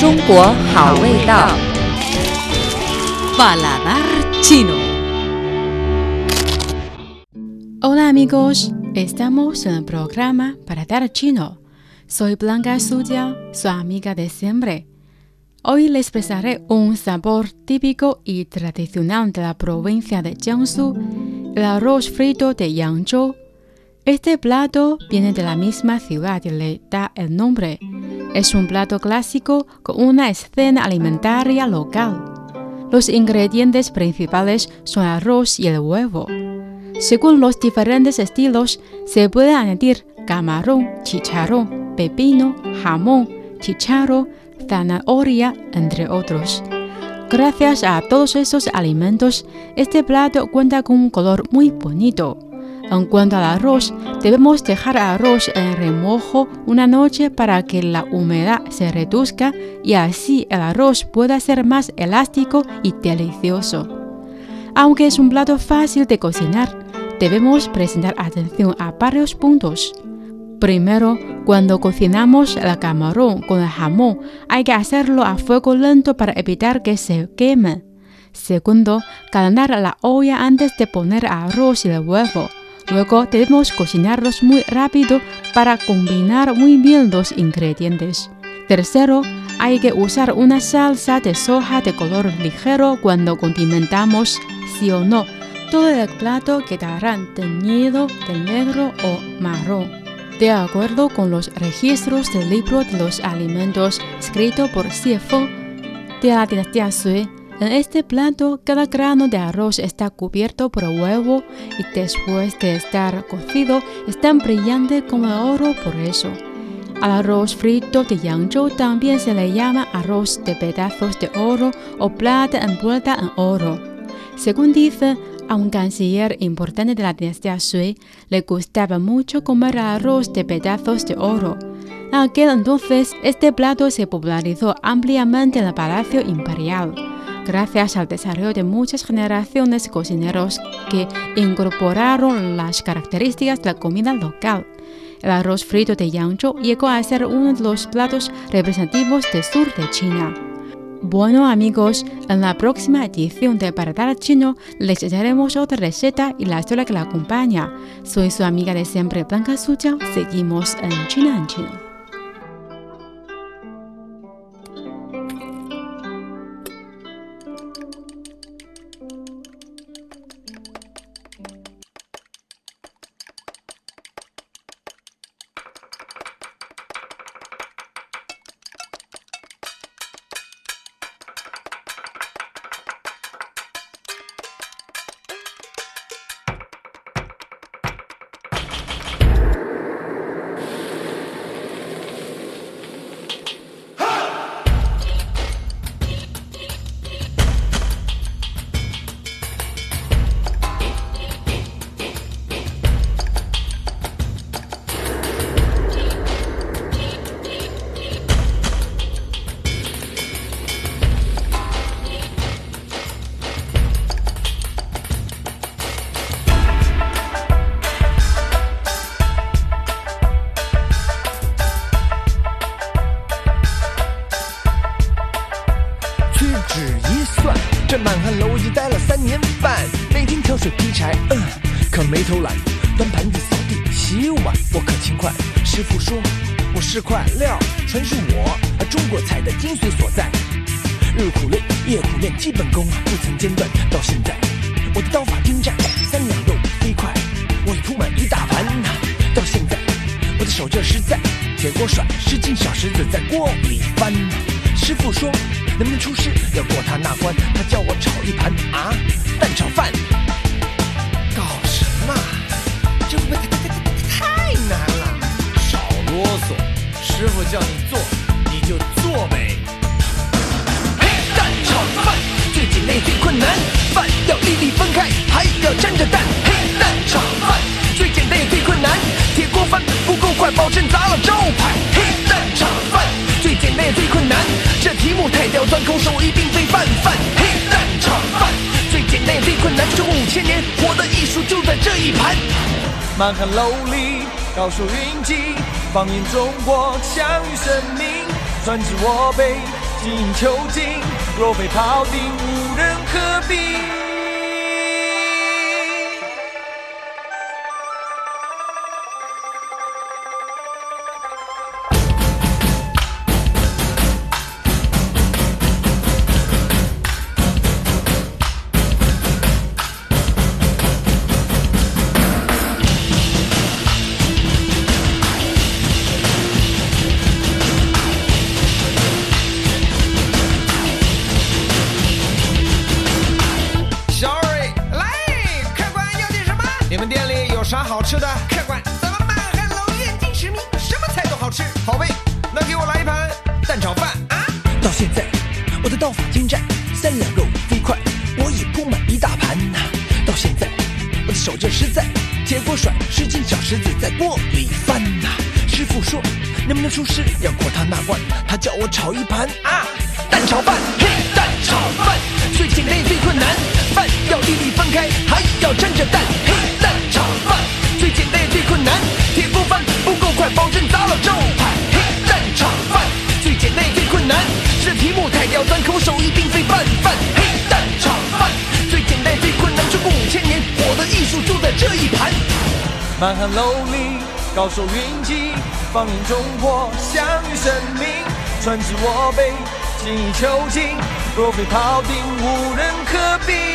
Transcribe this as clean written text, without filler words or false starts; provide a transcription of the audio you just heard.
中国好味道。 Paladar Chino. Hola amigos, estamos en el programa Paladar Chino. Soy Blanca Suya, su amiga de siempre. Hoy les presentaré un sabor típico y tradicional de la provincia de Jiangsu, el arroz frito de Yangzhou. Este plato viene de la misma ciudad y le da el nombre. Es un plato clásico con una escena alimentaria local. Los ingredientes principales son arroz y el huevo. Según los diferentes estilos, se puede añadir camarón, chicharrón, pepino, jamón, chicharro, zanahoria, entre otros. Gracias a todos esos alimentos, este plato cuenta con un color muy bonito. En cuanto al arroz, debemos dejar el arroz en remojo una noche para que la humedad se reduzca y así el arroz pueda ser más elástico y delicioso. Aunque es un plato fácil de cocinar, debemos prestar atención a varios puntos. Primero, cuando cocinamos el camarón con el jamón, hay que hacerlo a fuego lento para evitar que se queme. Segundo, calentar la olla antes de poner arroz y el huevo. Luego debemos cocinarlos muy rápido para combinar muy bien los ingredientes. Tercero, hay que usar una salsa de soja de color ligero cuando condimentamos, sí o no. Todo el plato quedará teñido de negro o marrón. De acuerdo con los registros del libro de los alimentos escrito por Xie Feng de la dinastía Sui, en este plato cada grano de arroz está cubierto por huevo y después de estar cocido es tan brillante como el oro por eso. Al arroz frito de Yangzhou también se le llama arroz de pedazos de oro o plata envuelta en oro. Según dice, a un canciller importante de la dinastía Sui le gustaba mucho comer arroz de pedazos de oro. En aquel entonces, este plato se popularizó ampliamente en el Palacio Imperial, gracias al desarrollo de muchas generaciones de cocineros que incorporaron las características de la comida local. El arroz frito de Yangzhou llegó a ser uno de los platos representativos del sur de China. Bueno amigos, en la próxima edición de Paladar Chino les echaremos otra receta y la historia que la acompaña. Soy su amiga de siempre, Blanca Suya. Seguimos en China en Chino. 这满汉楼已经待了3年半，每天挑水劈柴，可没偷懒，端盘子、扫地、洗碗，我可勤快。师傅说我是块料，传授我中国菜的精髓所在。日苦练，夜苦练，基本功不曾间断。到现在，我的刀法精湛，3两肉飞快，我已铺满一大盘。到现在，我的手劲实在，铁锅甩10斤小石子在锅里翻。师傅说能不能出师，要过他那关，他叫我炒一盘蛋炒饭。搞什么？这会不会太难了？ 少啰嗦，师傅叫你做你就做呗。 嘿，蛋炒饭最简单也最困难，饭要粒粒分开，还要沾着蛋。嘿，蛋炒饭最简单也最困难，铁锅翻不够快，保证砸了招牌。嘿，蛋炒饭最简单也最困难，这题目太刁钻，空手一定被泛泛。嘿，蛋炒饭最简单也最困难，中国5000年，活的艺术就在这一盘。满汉楼里高手云集，放眼中国，强于生命，传至我辈， 精益求精，若非庖丁无人可比。 你们店里有啥好吃的？ 客官，咱们满汉楼远近驰名，什么菜都好吃。 好呗，那给我来一盘蛋炒饭啊！ 到现在，我的刀法精湛，3两肉飞快，我已铺满一大盘呐。到现在，我的手劲实在，铁锅甩10斤小石子在锅里翻呐。师傅说，能不能出师要过他那关，他叫我炒一盘啊蛋炒饭，嘿，蛋炒饭最简单也最困难，饭要粒粒分开，还要沾着蛋，嘿，蛋炒饭最简单也最困难，铁锅翻不够快，保证砸了招牌，嘿，蛋炒饭最简单也最困难，是题目太刁钻，可我手艺并非泛泛，嘿，蛋炒饭最简单也最困难，中国5000年，我的艺术就在这一盘。满汉楼里高手云集，放眼中国，享誉盛名，传之我辈，精益求精，若非庖丁无人可比。